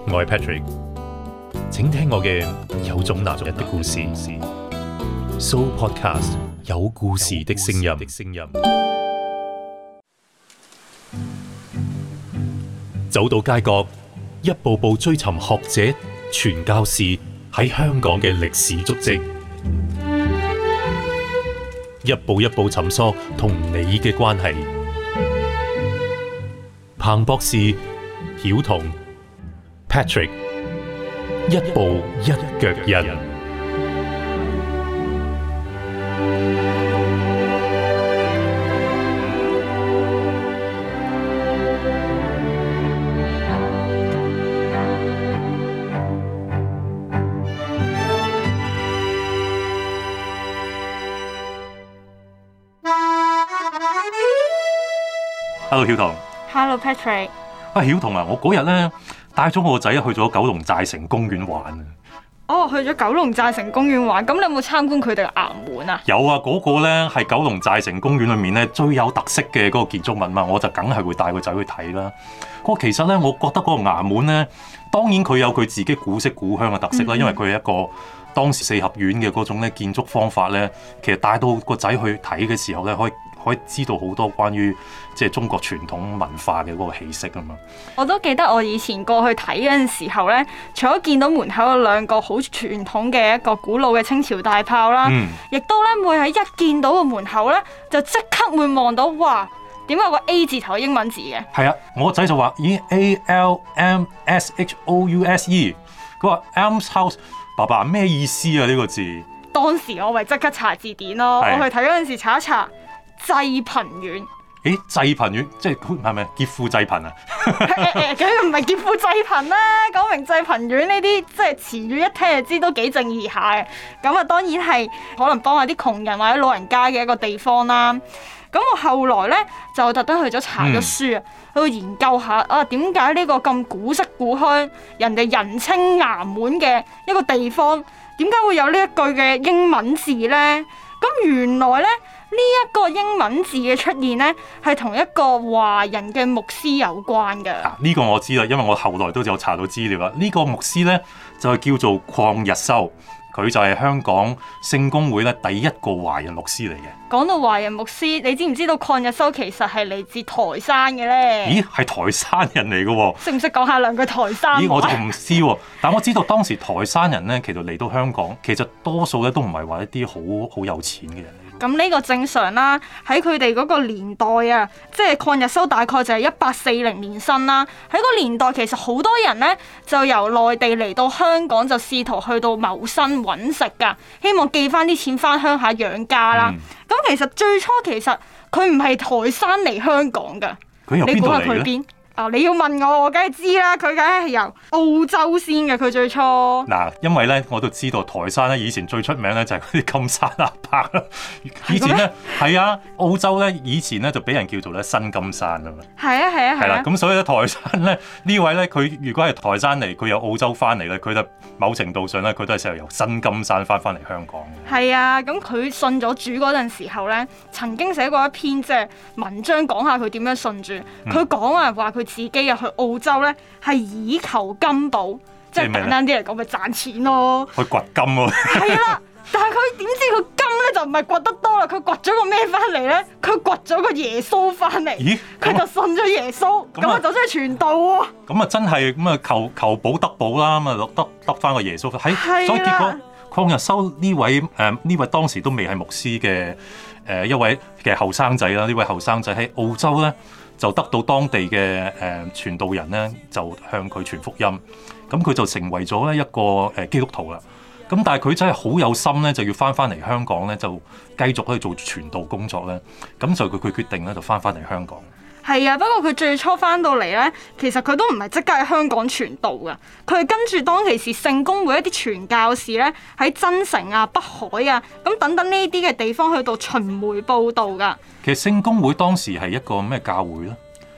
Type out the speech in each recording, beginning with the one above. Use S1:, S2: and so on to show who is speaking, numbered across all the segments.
S1: 我係 Patrick， 請聽我嘅有種男人的故事。So Podcast 有故事的聲音。走到街角，一步步追尋學者、傳教士喺香港嘅歷史足跡，一步一步尋索同你嘅關係。彭博士、曉彤、Patrick， 一步一腳印。Hello， 曉彤。
S2: Hello Patrick。
S1: 曉彤啊，我嗰日咧帶咗我個仔去咗九龍寨城公園玩啊。
S2: 哦，去咗九龍寨城公園玩，咁你有冇參觀佢哋嘅衙門啊？
S1: 有啊，嗰個咧係九龍寨城公園裏面咧最有特色嘅嗰個建築物嘛，我就梗係會帶個仔去睇啦。其實咧，我覺得嗰個衙門咧，當然佢有佢自己古色古香嘅特色啦，因為佢係一個當時四合院嘅嗰種咧建築方法咧，其實帶到個仔去睇嘅時候咧，可以知道好多關於即係中國傳統文化嘅嗰個氣息啊嘛。我
S2: 都記得我以前過去睇嗰陣時候咧，除咗見到門口有兩個好傳統嘅一個古老嘅清朝大炮啦，亦都咧會喺一見到個門口咧，就即刻會望到哇，點解有個 A 字頭英文字嘅？係啊，
S1: 我個仔就話咦 ALMSHOUSE， 佢話 Alms House， 爸爸咩意思啊呢個字？
S2: 當時我咪即刻查字典咯，我去睇嗰陣時查一查。濟貧院，
S1: 濟貧院即係咪劫富濟貧啊？
S2: 佢唔係劫富濟貧啦，講明濟貧院呢啲即係詞語一聽就知都幾正義下嘅。咁啊，當然係可能幫下啲窮人或者老人家嘅一個地方啦。咁我後來咧就特登去咗查咗書啊，去研究下啊點解呢個咁古色古香、人哋人稱衙門嘅一個地方，點解會有呢一句嘅英文字咧？咁原來咧。呢一個英文字嘅出現呢，係同一個華人嘅牧師有關嘅。
S1: 呢個我知啦，因為我後來都有查到資料啦。呢個牧師呢，就係叫做鄺日修，佢就係香港聖公會咧第一個華人牧師嚟嘅。
S2: 講到華人牧師，你知唔知道鄺日修其實係嚟自台山嘅呢？
S1: 咦，係台山人嚟嘅喎？
S2: 識唔識講下兩句台山話？
S1: 咦，我就唔知喎。但我知道當時台山人呢，其實嚟到香港，其實多數咧都唔係話一啲好有錢嘅人。
S2: 咁呢個正常啦，喺佢哋嗰個年代啊，即係鄺日修大概就係1840年生啦。喺個年代其實好多人呢，就由內地嚟到香港，就試圖去到謀生揾食㗎，希望寄翻啲錢翻鄉下養家啦。咁其實最初其實佢唔係台山嚟香港㗎，你估下佢邊？你要問我梗係知啦，佢梗係由澳洲先嘅，佢最初。
S1: 嗱，因為咧我都知道台山咧以前最出名咧就係嗰啲金山阿伯啦。以前咧係啊，澳洲咧以前咧就俾人叫做咧新金山啊嘛。係啦，咁所以咧台山咧呢位咧佢如果係台山嚟，佢由澳洲翻嚟咧，佢就某程度上咧佢都係成日由新金山翻嚟香港嘅。
S2: 係啊，咁佢信咗主嗰陣時候咧，曾經寫過一篇即係文章講下佢點樣信主。佢講話佢自己入去澳洲咧，係以求金寶，即係簡單啲嚟講，咪賺錢咯。
S1: 去掘金喎。
S2: 係啦，但係佢點知佢金咧就唔係掘得多啦，佢掘咗個咩翻嚟咧？佢掘咗個耶穌翻嚟。咦？佢就信咗耶穌，咁啊就真係傳道喎。咁啊真係咁啊求寶得寶啦，咁啊得翻個耶穌。所以結果鄺日修呢位當時都未係牧師嘅一位嘅後生仔啦，呢位後生仔喺澳洲咧。就得到當地嘅傳道人咧，就向佢傳福音，咁佢就成為咗咧一個基督徒啦。咁但係佢真係好有心咧，就要翻嚟香港咧，就繼續去做傳道工作咧。咁就佢決定咧，就翻嚟香港。係啊，不過佢最初翻到嚟咧，其實佢都唔係即刻喺香港傳道噶，佢係跟住當其時聖公會一啲傳教士咧，喺增城啊、北海啊咁等等呢啲嘅地方去到巡迴報道噶。
S1: 其實聖公會當時係一個咩教會咧？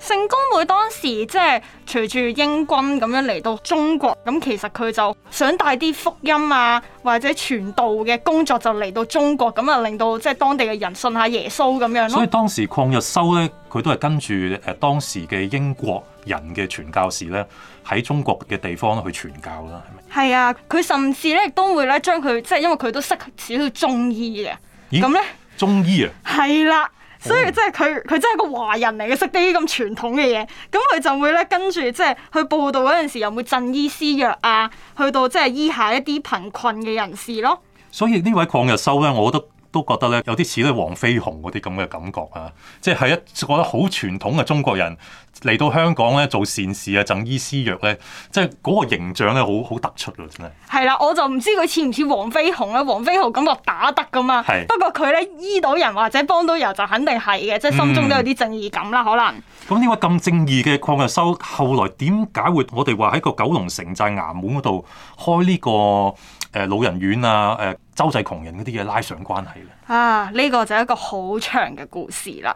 S2: 聖公會當時即係隨住英軍咁樣嚟到中國，咁其實佢就想帶啲福音啊或者傳道嘅工作就嚟到中國，咁啊令到即係當地嘅人信下耶穌咁樣咯。
S1: 所以當時鄺日修咧，佢都係跟住當時嘅英國人嘅傳教士咧喺中國嘅地方去傳教啦，係咪？
S2: 係啊，佢甚至咧亦都會咧將佢即係因為佢都識少少中醫嘅，咁咧
S1: 中醫啊，
S2: 係啦。所以即係佢真係個華人嚟嘅，識啲咁傳統嘅嘢，咁佢就會咧跟住即係去報道嗰陣時，又會贈醫施藥啊，去到即係醫下一啲貧困嘅人士咯。
S1: 所以呢位鄺日修咧，我都覺得咧有啲似咧黃飛鴻嗰啲咁嘅感覺啊，即係覺得好傳統嘅中國人嚟到香港咧做善事啊，贈醫施藥咧，即係嗰個形象咧好突出啊，真係。係
S2: 啦，我就唔知佢似唔似黃飛鴻咧？黃飛鴻感覺打得噶嘛，不過佢咧醫到人或者幫到人就肯定係嘅，即係心中都有啲正義感啦，可能。
S1: 咁呢位咁正義嘅鄺日修，後來點解會我哋話喺個九龍城寨衙門嗰度開呢個老人院啊、周濟窮人嗰啲嘢拉上關係咧？
S2: 啊，呢個就係一個好長嘅故事啦。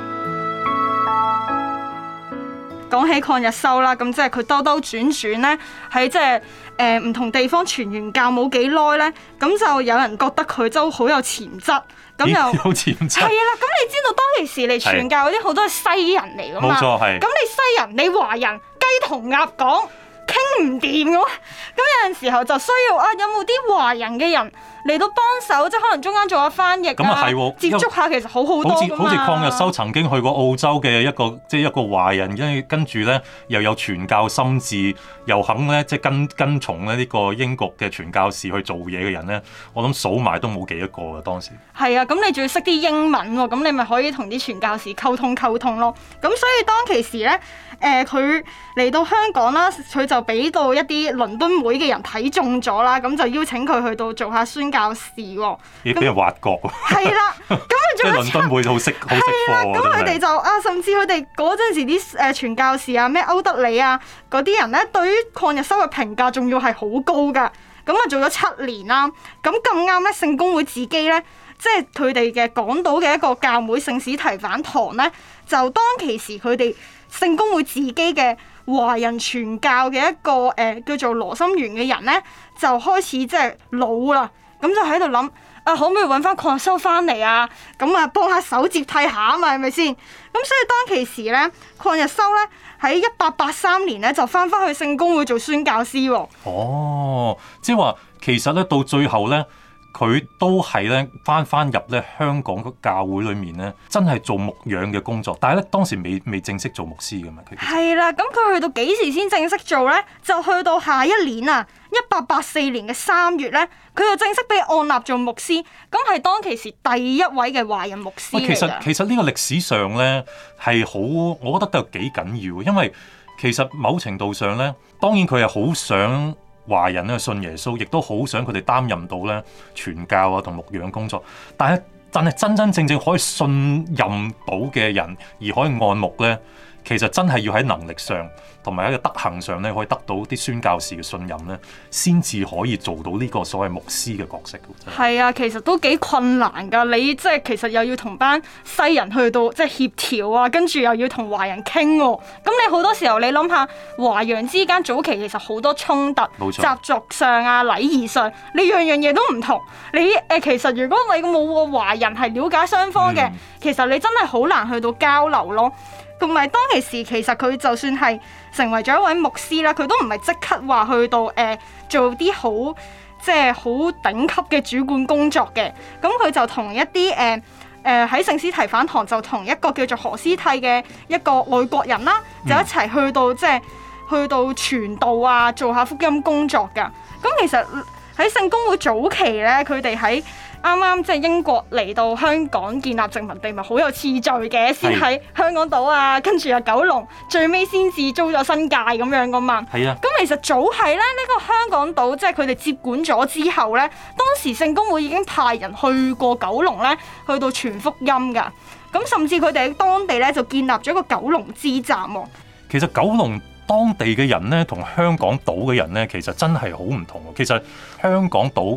S2: 講起鄺日修啦，咁即係佢兜兜轉轉咧，喺即係唔同地方傳完教冇幾耐咧，咁就有人覺得佢都好有潛質，咁又
S1: 有潛質。
S2: 係啦，咁你知道當其時嚟傳教嗰啲好多係西人嚟噶嘛？
S1: 冇錯，係。
S2: 咁你西人，你華人雞同鴨講傾唔掂嘅喎，咁有陣時候就需要有冇啲華人嘅人嚟到幫手，即係可能中間做下翻譯啊，接觸下其實好多㗎嘛。好似
S1: 鄺日修曾經去過澳洲嘅一個華人，跟住咧又有傳教心志，又肯咧即係跟從咧呢個英國嘅傳教士去做嘢嘅人咧，我諗數埋都冇幾多個㗎當時。
S2: 係啊，咁你仲要識啲英文喎，咁你咪可以同啲傳教士溝通咯。咁所以當其時咧，佢嚟到香港啦，佢就俾到一啲倫敦會嘅人睇中咗啦，咁就邀請佢去到做下宣教士喎。
S1: 俾人挖角喎。係
S2: 啦，咁佢
S1: 即係倫敦會好識貨喎。
S2: 咁佢哋就甚至佢哋嗰陣時啲傳教士啊，咩歐德里啊嗰啲人咧，對於鄺日修嘅評價仲要係好高㗎。咁啊做咗7年啦，咁咁啱咧，聖公會自己咧，即係佢哋嘅港島嘅一個教會聖史提反堂咧，就當其時佢哋聖公會自己嘅華人傳教嘅一個叫做羅心源嘅人咧，就開始即係老啦，咁就喺度諗可唔可以揾翻鄺日修翻嚟啊？咁啊幫下手接替下啊嘛，係咪先？咁所以當其時咧，鄺日修咧喺1883年咧就翻去聖公會做宣教師喎。
S1: 哦，即係話其實咧到最後咧，佢都係咧翻入咧香港嘅教會裏面咧，真係做牧養嘅工作。但係咧當時未正式做牧師㗎嘛。
S2: 係啦，咁佢去到幾時先正式做咧？就去到下一年啊，1884年嘅3月咧，佢就正式被按立做牧師。咁係當其時第一位嘅華人牧師嚟㗎。
S1: 其實呢個歷史上咧係好，我覺得都有幾緊要，因為其實某程度上咧，當然佢係好想華人咧信耶穌，亦都好想佢哋擔任到咧傳教啊同牧養工作。但係真正可以信任到嘅人而可以按牧咧，其實真係要喺能力上同埋喺個德行上咧，可以得到啲宣教士嘅信任咧，先至可以做到呢個所謂牧師嘅角色。
S2: 係啊，其實都幾困難㗎。你即係其實又要同班西人去到即係協調啊，跟住又要同華人傾喎。咁你好多時候你諗下，華洋之間早期其實好多衝突，習俗上啊、禮儀上，你樣嘢都唔同。你其實如果你冇個華人係了解雙方嘅，其實你真係好難去到交流咯。同埋當其時，其實佢就算係成為咗一位牧師啦，佢都唔係即刻話去到做啲好即係好頂級嘅主管工作嘅。咁佢就同一啲喺聖史提反堂就同一個叫做何思替嘅一個外國人啦，就一齊去到即係去到傳道啊，做下福音工作㗎。咁其實喺聖公會早期咧，佢哋喺啱啱即係英國嚟到香港建立殖民地，咪好有次序嘅，先喺香港島啊，跟住九龍，最尾先至租咗新界咁樣噶嘛。係啊。咁其實早係咧，呢個香港島即係佢哋接管咗之後咧，當時聖公會已經派人去過九龍咧，去到傳福音噶。咁甚至佢哋喺當地咧就建立咗一個九龍支站喎。
S1: 其實九龍當地嘅人咧，同香港島嘅人咧，其實真係好唔同。其實香港島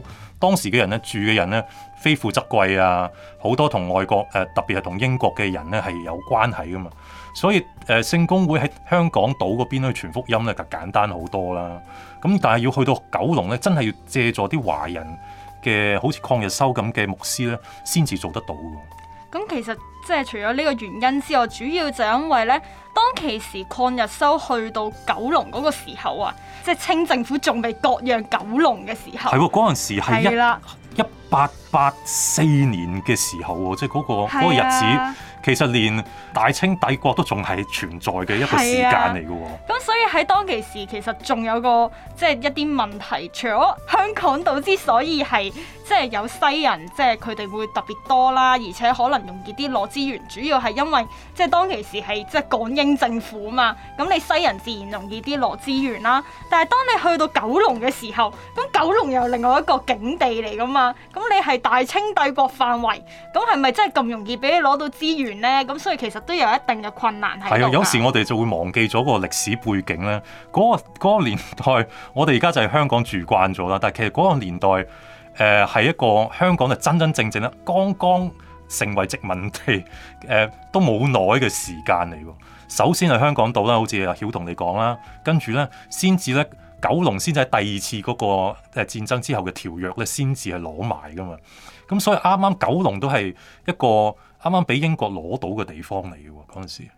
S1: 當時嘅人咧住嘅人咧非富則貴啊，好多同外國特別係同英國嘅人咧係有關係噶嘛，所以聖公會喺香港島嗰邊去傳福音咧就簡單好多啦。咁但係要去到九龍咧，真係要借助啲華人嘅好似抗日修咁嘅牧師咧，先至做得到㗎。
S2: 咁其實即係除咗呢個原因之外，主要就因為咧，當其時抗日修去到九龍嗰個時候啊，即係清政府仲未割讓九龍嘅時候。
S1: 係喎，嗰陣時係1884年嘅時候喎，即係嗰個日子。其實連大清帝國都仲係存在嘅一個時間嚟嘅喎。
S2: 咁所以喺當其時，其實仲有個即係一啲問題，除咗香港島之所以係即係有西人，即係佢哋會特別多啦，而且可能容易啲攞資源，主要係因為即係當其時係即係港英政府啊嘛。咁你西人自然容易啲攞資源啦。但係當你去到九龍嘅時候，咁九龍又另外一個境地嚟噶嘛。咁你係大清帝國範圍，咁係咪真係咁容易俾你攞到資源？咁所以其實都有一定嘅困難喺度。
S1: 係啊，有時我哋就會忘記咗個歷史背景咧。嗰個年代，我哋而家就係香港住慣咗啦。但係其實嗰個年代，係一個香港就真真正正咧，剛剛成為殖民地，都冇耐嘅時間嚟喎。首先係香港島啦，好似阿曉同你講啦，跟住咧先至咧九龍先至喺第二次嗰個戰爭之後嘅條約咧，先至係攞埋噶嘛。咁所以啱啱九龍都係一個啱啱俾英國攞到嘅地方嚟嘅喎，嗰陣時。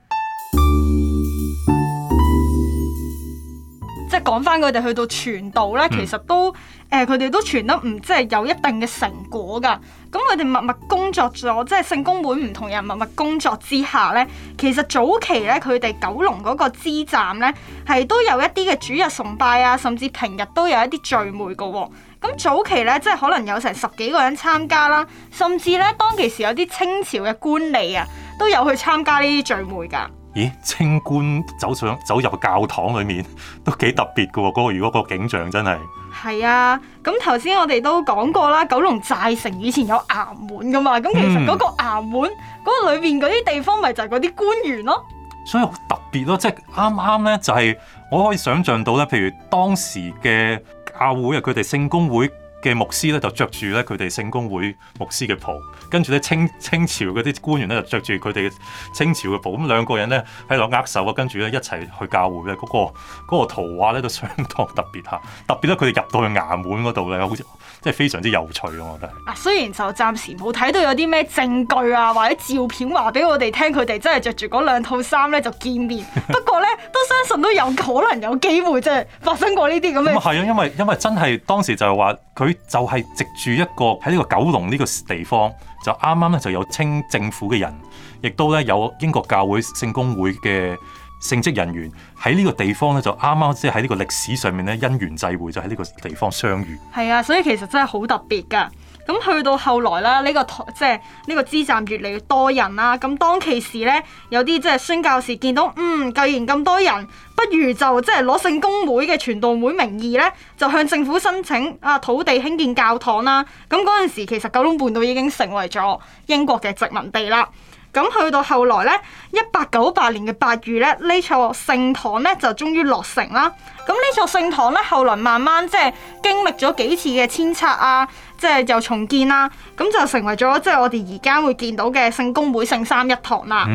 S2: 即係講翻佢哋去到傳道咧，其實都佢哋都傳得唔即係有一定嘅成果㗎。咁佢哋默默工作咗，即係聖公會唔同人默默工作之下咧，其實早期咧佢哋九龍嗰個支站咧係都有一啲嘅主日崇拜啊，甚至平日都有一啲聚會㗎喎。咁早期咧，即係可能有成10幾個人參加啦，甚至咧當其時有啲清朝嘅官吏啊，都有去參加呢啲聚會㗎。
S1: 咦，清官走入教堂裏面都幾特別㗎喎，嗰個如果個景象真係。
S2: 係啊，咁頭先我哋都講過啦，九龍寨城以前有衙門㗎嘛，咁其實嗰個衙門嗰個裏邊嗰啲地方咪就係嗰啲官員咯。
S1: 所以好特別咯，即係啱啱咧就係我可以想像到咧，譬如當時嘅教會啊，佢哋聖公會嘅牧師咧就着住咧佢哋聖公會牧師嘅袍，跟住咧清朝嗰啲官員咧就着住佢哋嘅清朝嘅袍，咁兩個人咧喺度握手啊，跟住咧一齊去教會咧，嗰個圖畫咧都相當特別嚇，特別咧佢哋入到去衙門嗰度咧，好似即係非常之有趣咯，我覺得。啊，
S2: 雖然就暫時冇睇到有啲咩證據啊或者照片話俾我哋聽，佢哋真係着住嗰兩套衫咧就見面，不過咧都相信都有可能有機會即係發生過呢啲咁嘅。
S1: 咁係啊，因為真係當時就係話佢就係藉住一個喺呢個九龍呢個地方，就啱啱咧就有清政府嘅人，亦都咧有英國教會聖公會嘅聖職人員喺呢個地方咧，就啱啱即係喺呢個歷史上面咧因緣際會，就喺呢個地方相遇。係
S2: 啊，所以其實真係好特別㗎。咁去到後來啦，呢個即係呢個支站越嚟越多人啦。咁當其時咧，有啲即係宣教士見到，既然咁多人，不如就即係攞聖公會嘅傳道會名義咧，就向政府申請土地興建教堂啦。咁嗰陣時其實九龍半島已經成為咗英國嘅殖民地啦。咁去到後來咧，1898年嘅8月咧，呢座聖堂咧就終於落成啦。咁呢座聖堂咧，後來慢慢即係經歷咗幾次嘅遷拆啊，即係又重建啦，咁就成為咗即係我哋而家會見到嘅聖公會聖三一堂啦。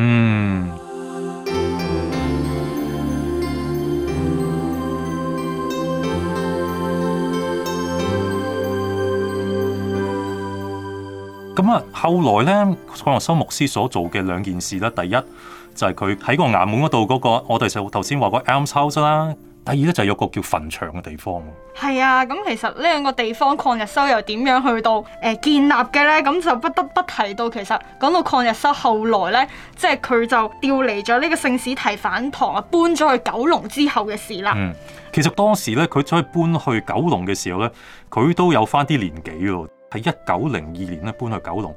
S1: 咁啊，後來咧，抗日修牧師所做嘅兩件事咧，第一就係佢喺個衙門嗰度嗰個，我哋就頭先話個 almshouse 啦。第二咧就係有個叫墳場嘅地方。
S2: 係啊，咁其實呢兩個地方抗日修又點樣去到建立嘅咧？咁就不得不提到，其實講到抗日修後來咧，即係佢就調離咗呢個聖史提反堂啊，搬咗去九龍之後嘅事啦。
S1: 其實當時咧，佢再搬去九龍嘅時候咧，佢都有翻啲年紀喎。喺1902年咧搬去九龍，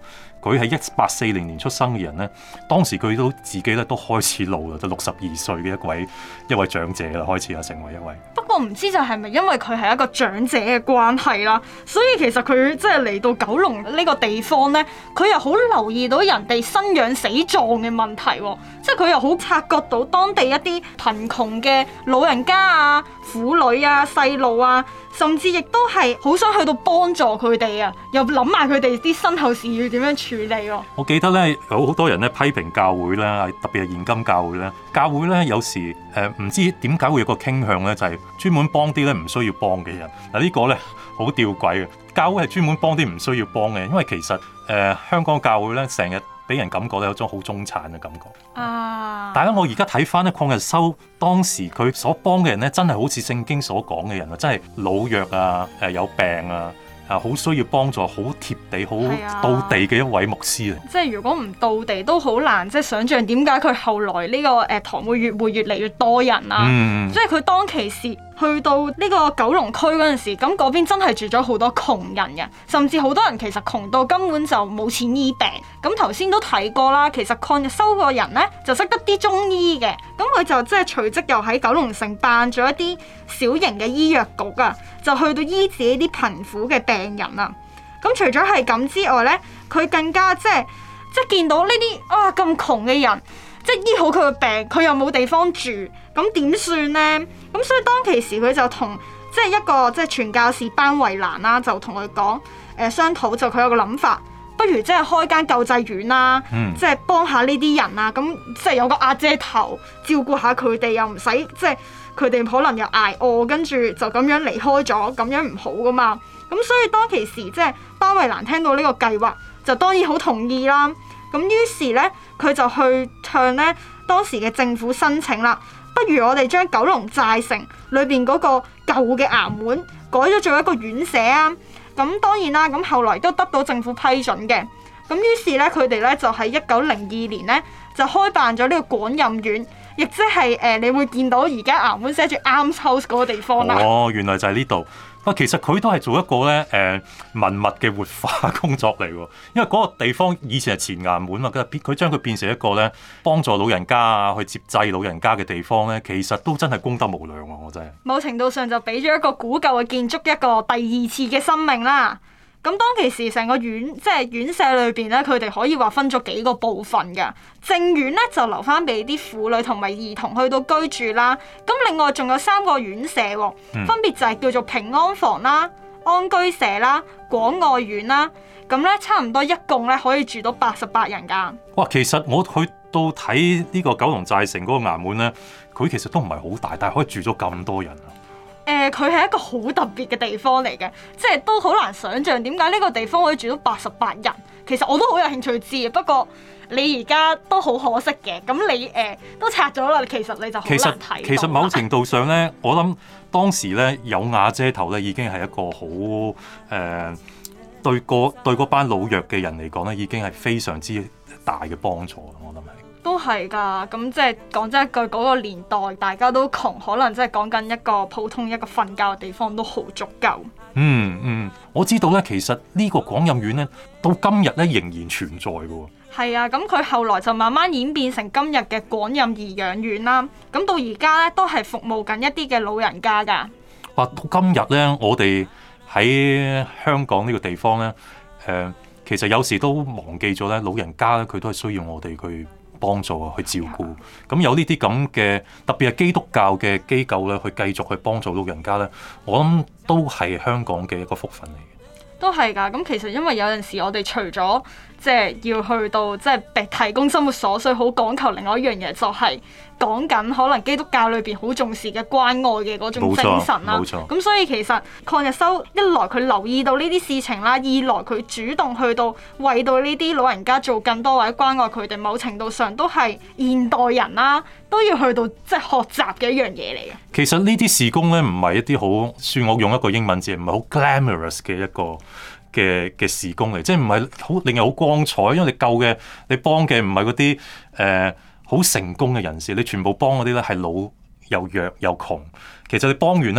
S1: 佢係1840年出生嘅人咧，當時佢都自己咧都開始老啦，就62歲嘅一位長者啦，開始成為一位。
S2: 不過唔知就係咪因為佢係一個長者嘅關係啦，所以其實佢即係嚟到九龍呢個地方咧，佢又好留意到人哋生養死葬嘅問題喎，即係佢又好察覺到當地一啲貧窮嘅老人家啊、婦女啊、細路啊，甚至亦都係好想去到幫助佢哋啊，又諗埋佢哋啲身後事要點樣處理喎。
S1: 我記得咧有好多人咧批評教會啦，特別係現今教會咧，教會咧有時唔知點解會有個傾向咧，就係專門幫啲咧唔需要幫嘅人。嗱呢個咧好吊詭嘅，教會係專門幫啲唔需要幫嘅人，因為其實香港教會咧成日俾人感覺咧有種好中產嘅感覺。但係我而家睇翻咧，鄺日修當時佢所幫嘅人咧，真係好似聖經所講嘅人啊，真係老弱啊，有病啊。好需要幫助，好貼地、好到地嘅一位牧師啊！
S2: 即係如果唔到地都好難，即係想像點解佢後來呢個堂會越嚟越多人啊！即係佢當其時去到呢個九龍區嗰陣時，咁嗰邊真係住咗好多窮人嘅，甚至好多人其實窮到根本就冇錢醫病。咁頭先都睇過啦，其實鄺日修個人呢，就識得啲中醫嘅，咁佢就即係隨即又喺九龍城辦咗一啲小型嘅醫藥局啊，就去到醫治呢啲貧苦嘅病人啊。咁除咗係咁之外呢，佢更加即係見到呢啲咁窮嘅人，即係醫好佢嘅病，佢又冇地方住，咁點算呢？咁所以當其時佢就同即係一個即係傳教士班惠蘭啦，就同佢講商討，就佢有個諗法，不如即係開間救濟院啦，即係幫下呢啲人啊，咁即係有個阿姐頭照顧下佢哋，又唔使即係佢哋可能又捱餓，跟住就咁樣離開咗，咁樣唔好噶嘛。咁所以當其時即係班惠蘭聽到呢個計劃，就當然好同意啦。咁於是咧，佢就去向咧當時嘅政府申請啦，不如我哋將九龍寨城裏邊嗰個舊嘅衙門改咗做一個院舍啊！咁當然啦，咁後來都得到政府批准嘅。咁於是咧，佢哋咧就喺1902年咧就開辦咗呢個廣蔭院，亦即係你會見到而家衙門寫住 Arms House 嗰個地方啦。
S1: 哦，原來就係呢度。其實佢都係做一個咧文物嘅活化工作嚟喎，因為嗰個地方以前係前衙門嘛，佢將佢變成一個咧幫助老人家啊，去接濟老人家嘅地方咧，其實都真係功德無量喎，我真係。某
S2: 程度上就俾咗一個古舊嘅建築一個第二次嘅生命啦。咁當其時成個院即係院舍裏邊咧，佢哋可以話分咗幾個部分嘅。正院咧就留翻俾啲婦女同埋兒童去到居住啦。咁另外仲有3個院舍喎，分別就係叫做平安房啦、安居舍啦、廣愛院啦。咁咧差唔多一共咧可以住到88人㗎。
S1: 哇！其實我去到睇呢個九龍寨城嗰個衙門咧，佢其實都唔係好大，但係可以住咗咁多人啊。
S2: 佢係一個好特別嘅地方嚟嘅，即係都好難想像點解呢個地方可以住到88人。其實我都好有興趣知，不過你而家都好可惜嘅。咁你都拆咗啦，其實你就好難睇。
S1: 其實某程度上咧，我諗當時咧有瓦遮頭咧，已經係一個好對嗰班老弱嘅人嚟講咧，已經係非常之大嘅幫助。我諗係。都
S2: 係㗎，咁即係講真一句，嗰個年代大家都窮，可能即係講緊一個普通一個瞓覺嘅地方都好足夠。
S1: 我知道咧，其實呢個廣蔭院咧，到今日咧仍然存在嘅喎。
S2: 係啊，咁佢後來就慢慢演變成今日嘅廣蔭頤養院啦。咁到而家咧都係服務緊一啲嘅老人家㗎。
S1: 到今日咧，我哋喺香港呢個地方咧，其實有時都忘記咗咧，老人家咧佢都係需要我哋去幫助啊，去照顧。咁有呢啲咁嘅特別係基督教嘅機構咧，去繼續去幫助老人家咧，我諗都係香港嘅一個福分嚟嘅。
S2: 都係㗎，咁其實因為有陣時我哋除咗即係要去到即係提供生活所需，好講求另外一樣嘢，就係講緊可能基督教裏邊好重視嘅關愛嘅嗰種精神啦。咁所以其實鄺日修一來佢留意到呢啲事情啦，二來佢主動去到為到呢啲老人家做更多或者關愛佢哋，某程度上都係現代人啦都要去到即係學習嘅一樣嘢嚟嘅。
S1: 其實呢啲事工咧唔係一啲好，算我用一個英文字，唔係好 glamorous 嘅一個嘅事工嚟，即係唔係好令人好光彩，因為你幫嘅唔係嗰啲好成功嘅人士，你全部幫嗰啲咧係老又弱又窮。其實你幫完咧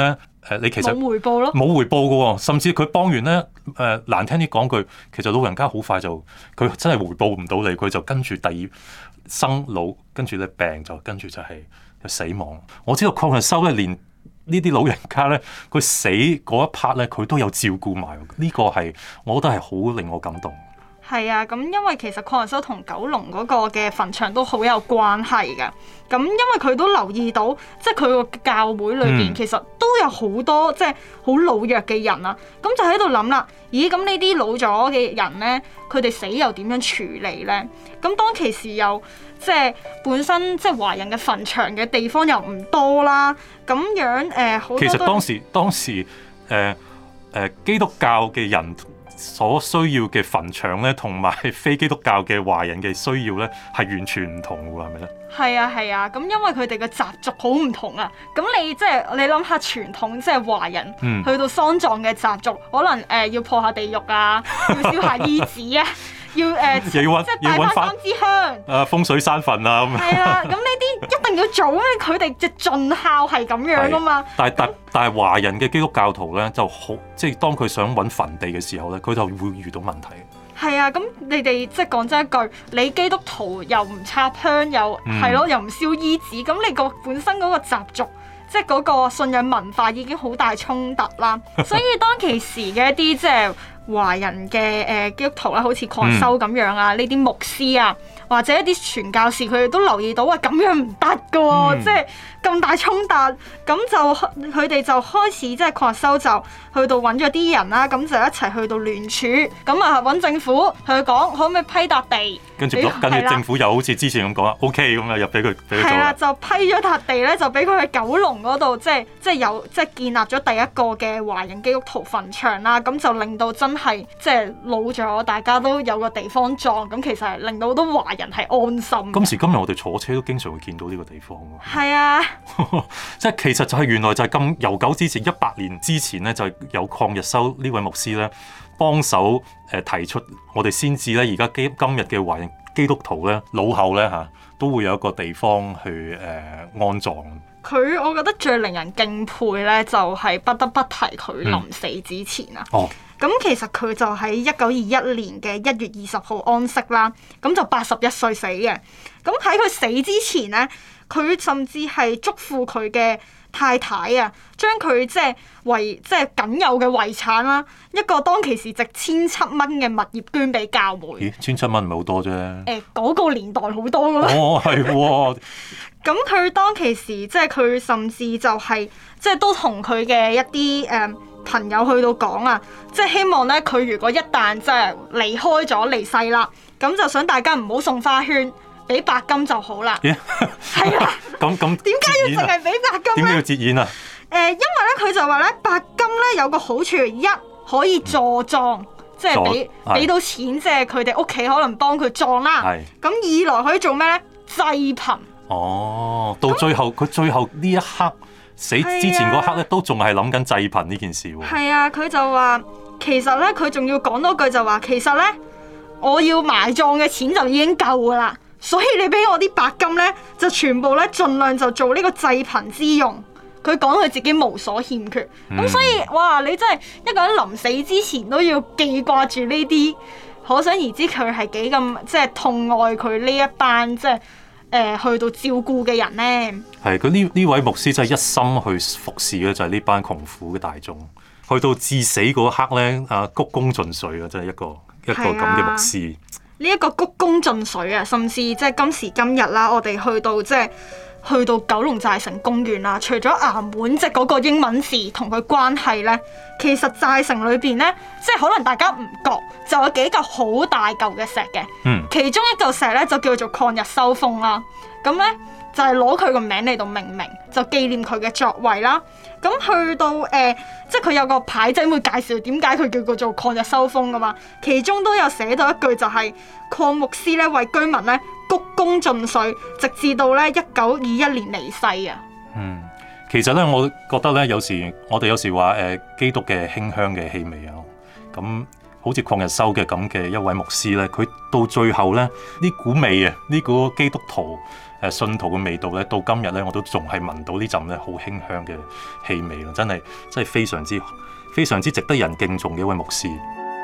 S1: 你其實
S2: 冇回報咯，
S1: 冇回報嘅喎，甚至佢幫完咧難聽啲講句，其實老人家好快就佢真係回報唔到你，佢就跟住第二生老，跟住咧病就跟住就係死亡。我知道鄺日修咧連呢啲老人家咧，佢死嗰一 part 咧，佢都有照顧埋，呢個係我覺得係好令我感動。
S2: 係啊，咁因為其實鄺日修同九龍嗰個嘅墳場都好有關係嘅。咁因為佢都留意到，即係佢個教會裏邊其實都有好多即係好老弱嘅人啊。咁就喺度諗啦，咦？咁呢啲老咗嘅人咧，佢哋死又點樣處理咧？咁當其時又即係本身即係華人嘅墳場嘅地方又唔多啦，咁樣好多
S1: 其實當時基督教嘅人所需要嘅墳場咧，同埋非基督教嘅華人嘅需要咧，係完全唔同嘅喎，係咪咧？
S2: 係啊，咁因為佢哋嘅習俗好唔同啊。咁你即係你諗下傳統即係華人去到喪葬嘅習俗，可能要破下地獄啊，要燒下衣紙啊。要即係帶翻3支香，
S1: 風水山墳啊咁。
S2: 係啦，咁呢啲一定要做，因為佢哋嘅盡孝係咁樣噶嘛。
S1: 但係華人嘅基督教徒咧就好，即係當佢想揾墳地嘅時候咧，佢就會遇到問題。
S2: 係啊，咁你哋即係講真一句，你基督徒又唔插香，又係咯，又唔燒衣紙，咁你個本身嗰個習俗，即係嗰個信仰文化已經好大衝突啦。所以當其時嘅一啲即係華人嘅基督徒啦，好似鄺修咁樣啊，呢啲牧師啊，或者一啲傳教士，佢哋都留意到啊，咁樣唔得噶喎，即係咁大衝突，咁就佢哋就開始即係鄺修就去到揾咗啲人啦，咁就一齊去到聯署，咁啊揾政府同佢講可唔可以批笪地，
S1: 跟住政府又好似之前咁講OK 咁啊，又俾佢做。係
S2: 啦，就批咗笪地咧，就俾佢去九龍嗰度，即係建立咗第一個嘅華人基督徒墳場啦，咁就令到真係即係老咗，大家都有個地方葬，咁其實係令到好多華人係安心。
S1: 今時今日我哋坐車都經常會見到呢個地方喎。
S2: 係啊，
S1: 即係其實就係原來就係咁悠久之前100年之前咧，就有鄺日修呢位牧師咧幫手提出，我哋先至咧而家今日嘅華人基督徒咧老後咧都會有一個地方去安葬。
S2: 佢我覺得最令人敬佩咧，就係不得不提佢臨死之前啊。咁其實佢就喺1921年嘅1月20號安息啦，咁就81歲死嘅。咁喺佢死之前咧，佢甚至係囑咐佢嘅太太啊，將佢即係僅有嘅遺產啦，一個當其時值1700蚊嘅物業捐俾教會。
S1: 咦，1700蚊唔係好多啫？
S2: 嗰個年代好多㗎啦。
S1: 係喎。
S2: 咁佢當其時即係佢甚至就係即係都同佢嘅一啲朋友去到講啊，即係希望咧佢如果一旦即係離開咗離世啦，咁就想大家唔好送花圈，俾白金就好啦。係啊。咁點解要淨係俾白金咧？
S1: 點解要節儉啊？
S2: 因為咧佢就話咧白金咧有個好處，一可以助葬，即係俾到錢，即係佢哋屋企可能幫佢葬啦。咁二來可以做咩咧？濟貧。
S1: 到最後佢最後呢一刻死之前嗰刻咧，都仲係諗緊濟貧呢件事喎。
S2: 係啊，佢就話其實咧，佢仲要講多句就話，其實咧我要埋葬嘅錢就已經夠噶啦，所以你俾我啲白金咧，就全部咧盡量就做呢個濟貧之用。佢講佢自己無所欠缺，咁所以哇，你真係一個人臨死之前都要記掛住呢啲，可想而知佢係幾咁即係痛愛佢呢一班即係。去到照顧嘅人咧，
S1: 係佢呢位牧師真係一心去服侍嘅就係呢班窮苦嘅大眾，去到至死嗰刻咧，鞠躬盡瘁啊！真係一個咁嘅牧師。
S2: 呢一個鞠躬盡瘁啊，甚至即係今時今日啦，我哋去到九龍寨城公園啦，除咗衙門即係嗰個英文字同佢關係咧，其實寨城裏邊咧，即係可能大家唔覺，就有幾嚿好大嚿嘅石嘅。其中一嚿石咧就叫做鄺日修峰啦。咁咧就係攞佢個名嚟到命名，就紀念佢嘅作為啦。咁去到即係佢有個牌仔會介紹點解佢叫做鄺日修峰噶嘛。其中都有寫到一句就係鄺牧師咧為居民咧鞠躬盡瘁，直至到咧1921年離世啊。
S1: 其實咧，我覺得咧，我哋有時話基督嘅馨香嘅氣味啊，咁好似鄺日修嘅咁嘅一位牧師咧，佢到最後咧呢股味啊，呢股基督徒信徒嘅味道咧，到今日咧我都仲係聞到呢陣咧好馨香嘅氣味咯，真係非常之值得人敬重嘅一位牧師。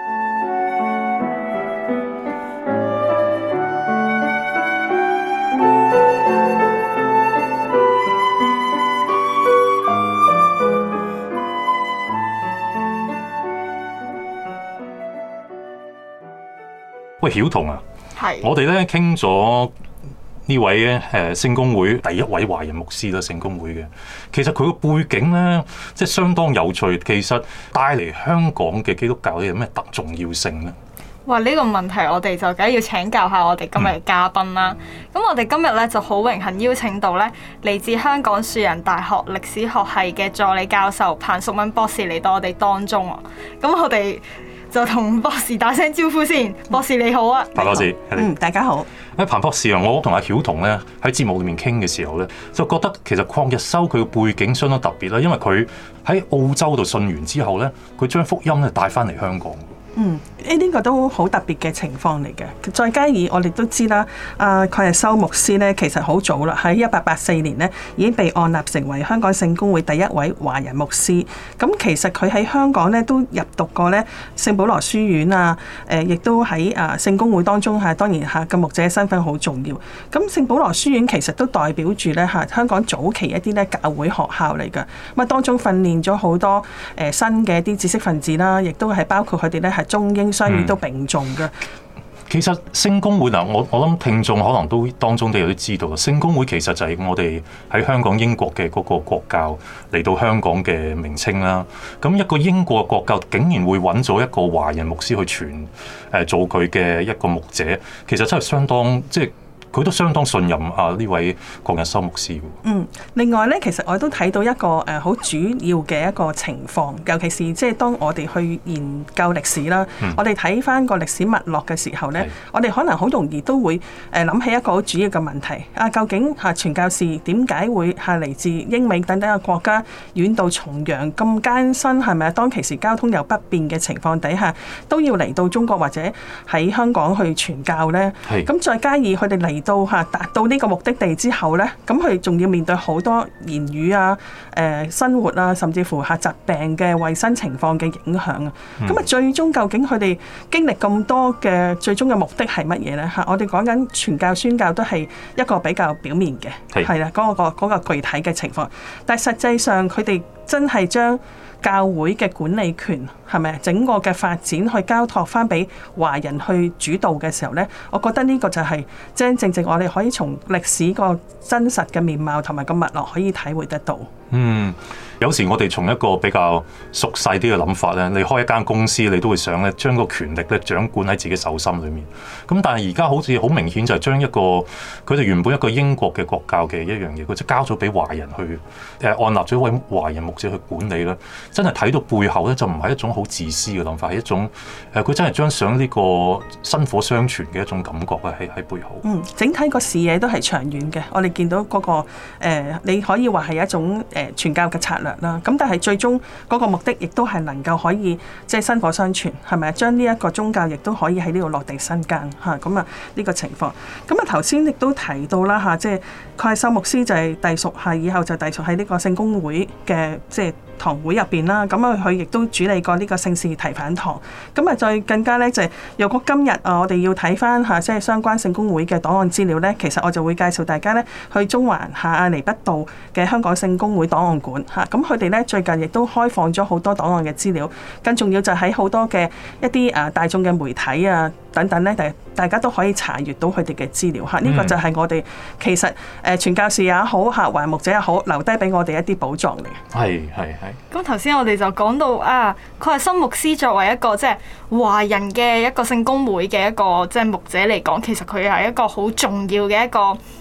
S1: 喂，曉彤啊，我哋咧傾咗呢位聖公會第一位華人牧師啦，聖公會嘅，其實佢個背景咧，即係相當有趣。其實帶嚟香港嘅基督教有咩特重要性咧？
S2: 哇！呢個問題我哋就梗係要請教下我哋今日嘅嘉賓啦。咁我哋今日咧就好榮幸邀請到咧嚟自香港樹仁大學歷史學系嘅助理教授彭淑敏博士嚟到我哋當中啊。咁我哋就同博士打聲招呼先。博士你好啊，
S1: 彭博士，
S3: 大家好。
S1: 彭博士啊，我同阿曉彤咧喺節目裏面傾嘅時候咧，就覺得其實鄺日修佢嘅背景相當特別啦，因為佢喺澳洲度信完之後咧，佢將福音咧帶翻嚟香港。
S3: 呢個都好特別嘅情況嚟嘅。再加以我哋都知啦，鄺日修牧師咧，其實好早啦，喺1884年咧已經被按立成為香港聖公會第一位華人牧師。咁其實佢喺香港咧都入讀過咧聖保羅書院啊，亦都喺聖公會當中當然嘅牧者身份好重要。咁聖保羅書院其實都代表住咧香港早期一啲咧教會學校嚟㗎。咁當中訓練咗好多新嘅一啲知識分子啦，亦都係包括佢哋咧係中英雙語都並重嘅。
S1: 其實聖公會嗱，我諗聽眾可能都當中都有啲知道，聖公會其實就係我哋喺香港英國嘅嗰個國教嚟到香港嘅名稱啦。咁一個英國嘅國教竟然會揾咗一個華人牧師去傳做佢嘅一個牧者，其實真係相當佢都相當信任呢位鄺日修牧師。
S3: 另外咧，其實我都睇到一個好主要嘅一個情況，尤其是即係當我哋去研究歷史啦，我哋睇翻個歷史脈絡嘅時候咧，我哋可能好容易都會諗起一個好主要嘅問題究竟傳教士點解會嚟自英美等等嘅國家遠渡重洋咁艱辛，係咪當其時交通又不便嘅情況底下，都要嚟到中國或者喺香港去傳教咧？咁再加以佢哋嚟到達到呢個目的地之後呢，咁佢仲要面對好多言語啊、生活啊，甚至乎疾病嘅衞生情況嘅影響啊。咁最終究竟佢哋經歷咁多嘅最終嘅目的係乜嘢呢？我哋講緊傳教宣教都係一個比較表面嘅，係啦，嗰個具體嘅情況。但係實際上佢哋真係將教會嘅管理權係咪整個嘅發展去交託翻俾華人去主導嘅時候呢？我覺得呢個就係正正我哋可以從歷史個真實嘅面貌同埋個脈絡可以體會得到。
S1: 有時我哋從一個比較熟細啲嘅諗法咧，你開一間公司，你都會想咧將個權力咧掌管喺自己手心裏面。咁但係而家好似好明顯就係將一個佢哋原本一個英國嘅國教嘅一樣嘢，佢就交咗俾華人去按立咗一位華人牧者去管理啦。真係睇到背後咧，就唔係一種好自私嘅諗法，係一種佢真係將想呢個薪火相傳嘅一種感覺啊，喺背後。
S3: 整體個視野都係長遠嘅。我哋見到嗰個你可以話係一種傳教嘅策略啦。咁但係最終嗰個目的亦都係能夠可以即係薪火相傳，係咪將呢一個宗教亦都可以喺呢度落地生根嚇？咁呢個情況。咁頭先亦都提到啦即係鄺日修牧師就係隸屬以後就隸屬喺呢個聖公會嘅即係堂會入邊啦。咁佢亦都主理過呢個聖士提反堂。咁再更加咧就係，如果今日我哋要睇翻即係相關聖公會嘅檔案資料咧，其實我就會介紹大家咧去中環亞厘畢道嘅香港聖公會檔案館嚇。咁佢哋咧最近亦都開放咗好多檔案嘅資料，更重要就喺好多嘅一啲大眾嘅媒體啊等等咧，大家都可以查閱到佢哋嘅資料嚇。呢個就係我哋其實傳教士也好華人牧者也好，留低俾我哋一啲寶藏嚟。
S1: 係。
S2: 咁頭先我哋就講到鄺日修牧師作為一個即係華人嘅一個聖公會嘅一個即係牧者嚟講，其實佢係一個好重要嘅一個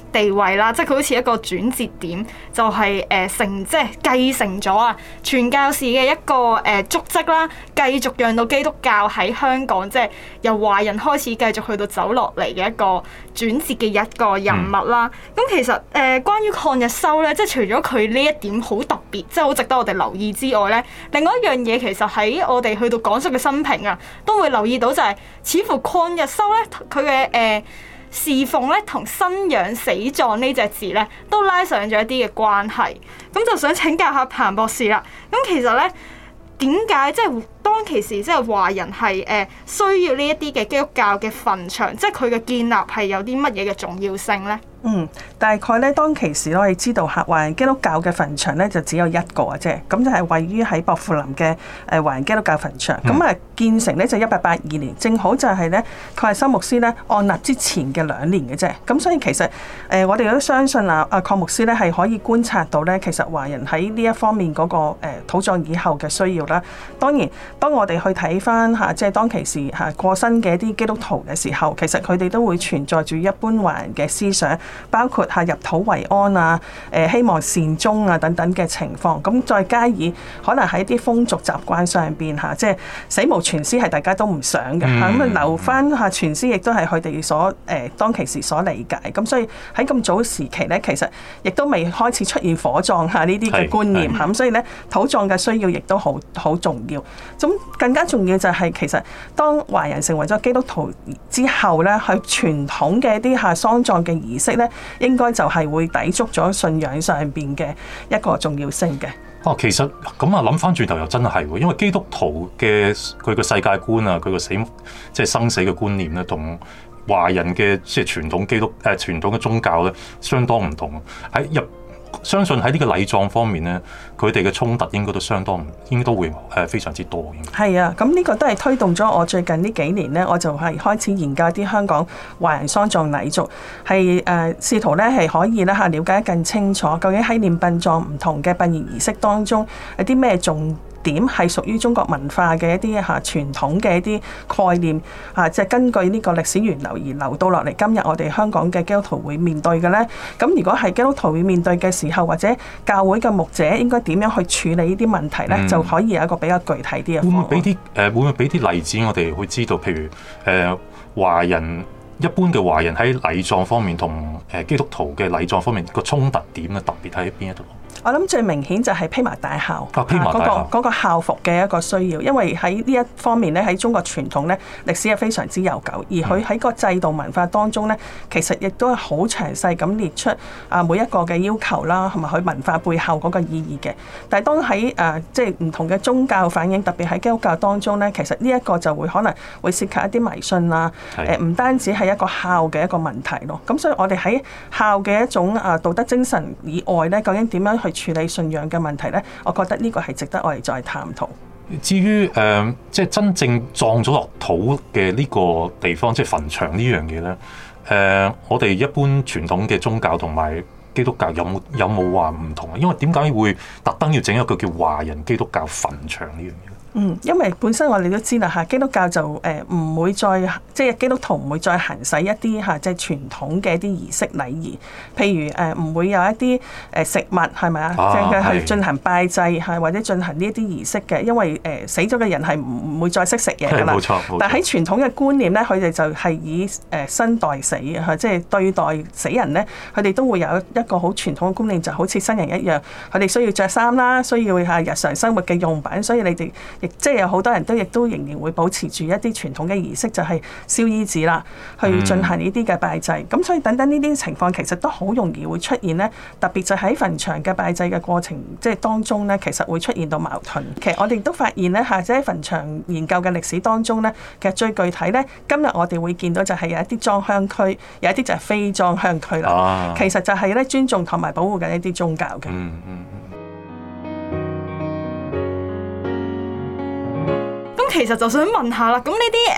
S2: 地位啦，即係佢好似一個轉折點，就係即係繼承咗啊傳教士嘅一個足跡啦，繼續讓到基督教喺香港即係由華人開始繼續去到走落嚟嘅一個轉折嘅一個人物啦。咁其實關於抗日修咧，即係除咗佢呢一點好特別，即係好值得我哋留意之外咧，另外一樣嘢其實喺我哋去到講述嘅生平啊，都會留意到就係似乎抗日修咧佢嘅侍奉咧同生養死葬呢隻字咧都拉上咗一啲嘅關係。咁就想請教下彭博士啦。咁其實咧點解即係當其時即係華人係需要呢一啲嘅基督教嘅墳場，即係佢嘅建立係有啲乜嘢嘅重要性咧？
S3: 大概咧當其時我哋知道華人基督教嘅墳場咧就只有一個嘅啫，咁就係位於喺薄扶林嘅華人基督教墳場。咁建成咧就1882年，正好就係咧蓋森牧師咧按立之前嘅2年嘅啫。咁所以其實我哋都相信鄺牧師咧係可以觀察到咧，其實華人喺呢一方面嗰個土葬以後嘅需要啦。當然，當我哋去睇翻即係當其時過身嘅一啲基督徒嘅時候，其實佢哋都會存在住一般華人嘅思想。包括入土為安啊，希望善終啊等等嘅情況，咁再加以可能喺啲風俗習慣上邊即係死無全屍係大家都唔想嘅咁留翻全屍亦都係佢哋所當其時所理解，咁所以喺咁早時期咧，其實亦都未開始出現火葬呢啲嘅觀念咁所以咧土葬嘅需要亦都好重要。咁更加重要就係其實當華人成為咗基督徒之後咧，佢傳統嘅一啲喪葬嘅儀式咧，應該就係會抵觸咗信仰上邊嘅一個重要性嘅。
S1: 其實咁諗翻轉頭又真係喎，因為基督徒嘅佢個世界觀啊，佢個即係生死嘅觀念咧，同華人嘅即係傳統傳統嘅宗教咧，相當唔同。相信喺呢個禮葬方面咧，佢哋嘅衝突應該都會非常之多。
S3: 係啊，咁呢個都係推動咗我最近呢幾年咧，我就係開始研究一啲香港華人喪葬禮俗，係試圖咧係可以咧了解得更清楚，究竟喺殮殯葬唔同嘅殯儀儀式當中有啲咩重點係屬於中國文化嘅一啲傳統嘅一啲概念即係根據呢個歷史源流而流到落嚟，今日我哋香港嘅基督徒會面對嘅咧。咁如果係基督徒會面對嘅時候，或者教會嘅牧者應該點樣去處理呢啲問題咧，就可以有一個比較具體啲嘅方案。
S1: 會唔會俾啲例子我哋會知道？譬如一般嘅華人喺禮葬方面同基督徒嘅禮葬方面個衝突點咧，特別喺邊一度？
S3: 我諗最明顯就係披麻戴孝嗰個孝服嘅一個需要，因為喺呢一方面咧，喺中國傳統咧歷史係非常之悠久，而佢喺個制度文化當中咧，其實亦都係好詳細咁列出每一個嘅要求啦，同埋佢文化背後嗰個意義嘅。但係當喺即係唔同嘅宗教反映，特別喺基督教當中咧，其實呢一個就會可能會涉及一啲迷信啦，唔單止係一個孝嘅一個問題咯。咁所以我哋喺孝嘅一種道德精神以外咧，究竟點樣去處理信仰嘅問題咧？我覺得呢個係值得我哋再探討。
S1: 至於即係真正葬咗落土嘅呢個地方，即係墳場呢樣嘢咧，我哋一般傳統嘅宗教同埋基督教有冇話唔同啊？因為點解會特登要整一個叫華人基督教墳場呢樣嘢？
S3: 因為本身我哋都知啦基督教就唔會再即係基督徒唔會再行使一啲即係傳統嘅一啲儀式禮儀，譬如唔會有一啲食物係咪啊？即係去進行拜祭或者進行呢一啲儀式嘅，因為死咗嘅人係唔會再識食嘢㗎啦。冇錯。但喺傳統嘅觀念咧，佢哋就係以生代死即係對待死人咧，佢哋都會有一個好傳統嘅觀念，就好似新人一樣，佢哋需要着衫啦，需要日常生活嘅用品，所以你哋亦即係有好多人亦都仍然會保持住一啲傳統嘅儀式，就係燒衣紙啦，去進行呢啲嘅拜祭。咁所以等等呢啲情況其實都好容易會出現咧，特別就喺墳場嘅拜祭嘅過程即係當中咧，其實會出現到矛盾。其實我哋都發現咧即係喺墳場研究嘅歷史當中咧，其實最具體咧，今日我哋會見到就係有一啲裝香區，有一啲就係非裝香區啦。其實就係咧尊重同埋保護緊一啲宗教嘅。
S2: 其實就想問下啦，咁呢啲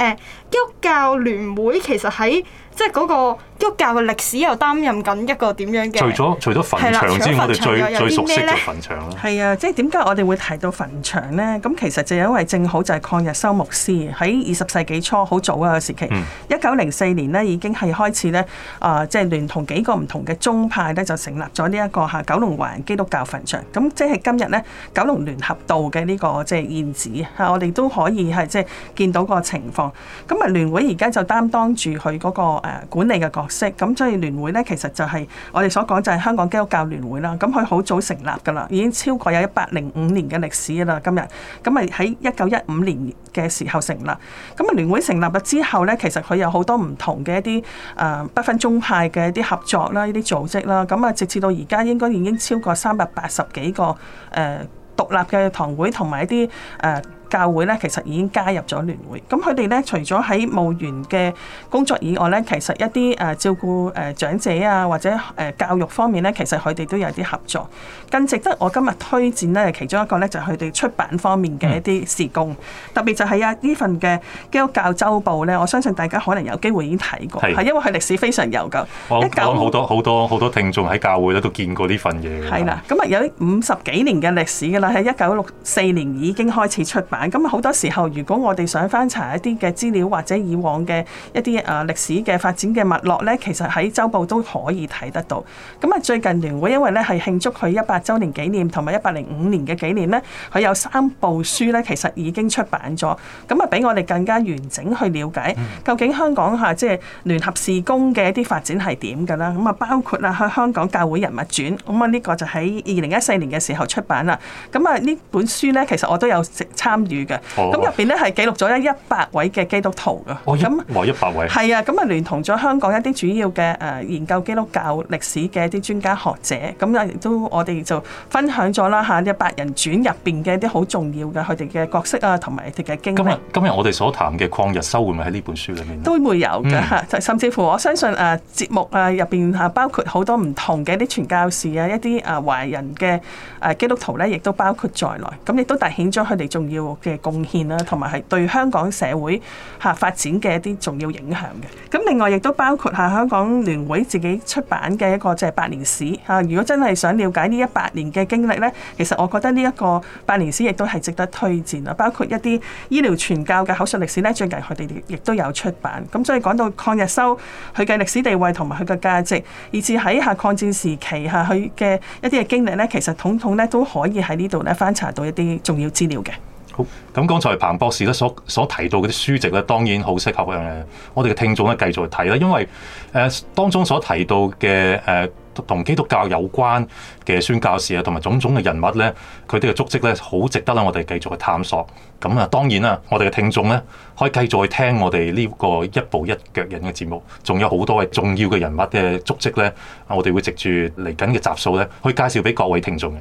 S2: 基督教聯會其實喺即係嗰個基督教嘅歷史又擔任緊一個點樣嘅？
S1: 除咗墳場之外，我哋最熟悉就墳場啦。
S3: 係啊，即係點解我哋會提到墳場咧？咁其實就因為正好就係抗日修牧師喺20世紀初好早嘅時期，1904年咧已經係開始咧即係聯同幾個唔同嘅宗派咧就成立咗呢一個九龍華人基督教墳場。咁即係今日咧九龍聯合道嘅呢個即係現址我哋都可以係即係見到個情況。咁啊聯會而家就擔當住佢嗰個管理嘅角色，咁所以聯會咧其實就係我哋所講就係香港基督教聯會啦。咁佢好早成立㗎啦，已經超過有105年嘅歷史㗎啦。今日咁啊喺1915年嘅時候成立。咁啊聯會成立咗之後咧，其實佢有好多唔同嘅一啲不分宗派嘅一啲合作啦，呢啲組織啦。咁啊直至到而家應該已經超過380幾個獨立嘅堂會同埋一啲教會咧，其實已經加入咗聯會。咁佢哋咧，除咗喺務員嘅工作以外咧，其實一啲照顧長者啊，或者教育方面咧，其實佢哋都有啲合作。更值得我今日推薦咧，其中一個咧就係佢哋出版方面嘅一啲事工，特別就係呢份嘅基督教週報咧，我相信大家可能有機會已經睇過，係因為佢歷史非常悠久。
S1: 我諗好多聽眾喺教會咧都見過呢份嘢。
S3: 係啦，咁啊有50幾年嘅歷史㗎啦，喺1964年已經開始出版。咁好多時候，如果我哋想翻查一啲嘅資料或者以往嘅一啲歷史嘅發展嘅脈絡咧，其實喺週報都可以睇得到。咁啊，最近聯會因為咧係慶祝佢100週年紀念同埋105年嘅紀念咧，佢有3部書咧，其實已經出版咗。咁啊，俾我哋更加完整去了解究竟香港即係聯合事工嘅一啲發展係點㗎啦。咁啊，包括喺香港教會人物傳，咁啊呢個就喺2014年嘅時候出版啦。咁啊呢本書咧，其實我都有參與嘅。咁入邊咧係記錄咗100位嘅基督徒㗎。
S1: 100位。係
S3: 啊，咁啊聯同咗香港一啲主要嘅研究基督教歷史嘅一啲專家學者，咁啊亦都我哋就分享咗啦嚇100人傳入邊嘅一啲好重要嘅佢哋嘅角色啊，同埋佢哋嘅經歷。
S1: 今日我哋所談嘅抗日修會唔會喺呢本書裏面？
S3: 都會有嘅，甚至乎我相信節目入邊包括好多唔同嘅一啲傳教士啊，一啲華人嘅基督徒咧，亦都包括在內。咁亦都凸顯咗佢哋重要嘅貢獻啦，同埋係對香港社會發展嘅一啲重要影響嘅。咁另外亦都包括香港聯會自己出版嘅一個即係百年史嚇。如果真係想了解呢100年嘅經歷咧，其實我覺得呢一個百年史亦都係值得推薦啊。包括一啲醫療傳教嘅口述歷史咧，最近佢哋亦都有出版。咁所以講到抗日修佢嘅歷史地位同埋佢嘅價值，以至喺抗戰時期佢嘅一啲嘅經歷咧，其實統統咧都可以喺呢度咧翻查到一啲重要資料嘅。
S1: 好，咁剛才彭博士咧所提到嗰啲書籍咧，當然好適合我哋嘅聽眾咧繼續去睇啦，因為當中所提到嘅同基督教有關嘅宣教士啊，同埋種種嘅人物咧，佢哋嘅足跡咧，好值得啦，我哋繼續去探索。咁啊，當然啦，我哋嘅聽眾咧，可以繼續去聽我哋呢個一步一腳印嘅節目，仲有好多嘅重要嘅人物嘅足跡咧，我哋會藉住嚟緊嘅集數咧，去介紹俾各位聽眾嘅。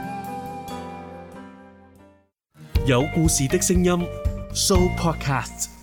S4: 有故事的聲音 Show Podcast。